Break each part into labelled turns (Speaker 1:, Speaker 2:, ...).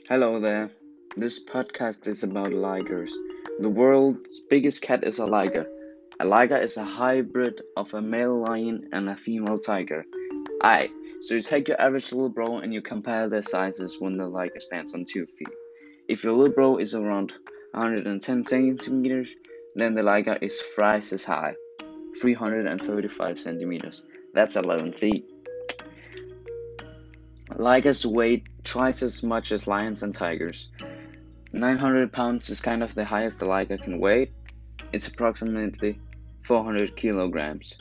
Speaker 1: Hello there. This podcast is about ligers. The world's biggest cat is a liger. A liger is a hybrid of a male lion and a female tiger. Aye, so you take your average little bro and you compare their sizes when the liger stands on 2 feet. If your little bro is around 110 centimeters, then the liger is thrice as high, 335 centimeters. That's 11 feet. Ligers weigh twice as much as lions and tigers. 900 pounds is kind of the highest a liger can weigh. It's approximately 400 kilograms.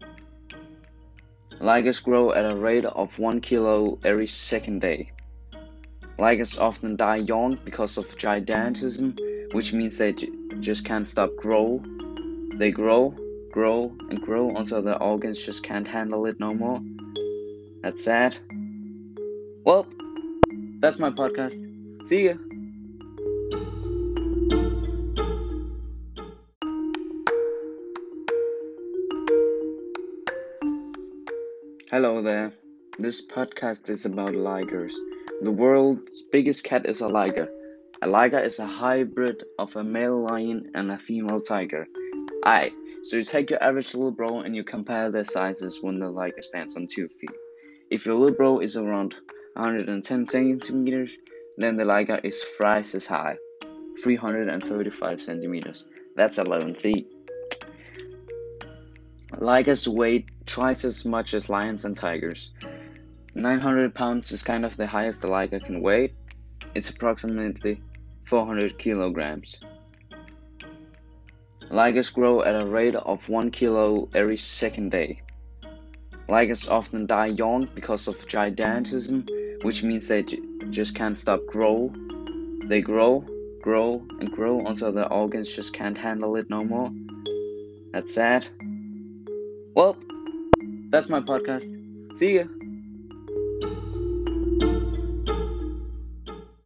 Speaker 1: Ligers grow at a rate of 1 kilo every second day. Ligers often die young because of gigantism, which means they just can't stop grow. They grow, and grow until their organs just can't handle it no more. That's sad. Well, that's my podcast. See ya. Hello there. This podcast is about ligers. The world's biggest cat is a liger. A liger is a hybrid of a male lion and a female tiger. Aye, so you take your average little bro and you compare their sizes when the liger stands on 2 feet. If your little bro is around 110 centimeters, then the liger is thrice as high, 335 centimeters. That's 11 feet. Ligers weigh twice as much as lions and tigers. 900 pounds is kind of the highest a liger can weigh. It's approximately 400 kilograms. Ligers grow at a rate of 1 kilo every second day. Ligers often die young because of gigantism, which means they just can't stop grow. They grow, and grow until their organs just can't handle it no more. That's sad. Well, that's my podcast. See ya.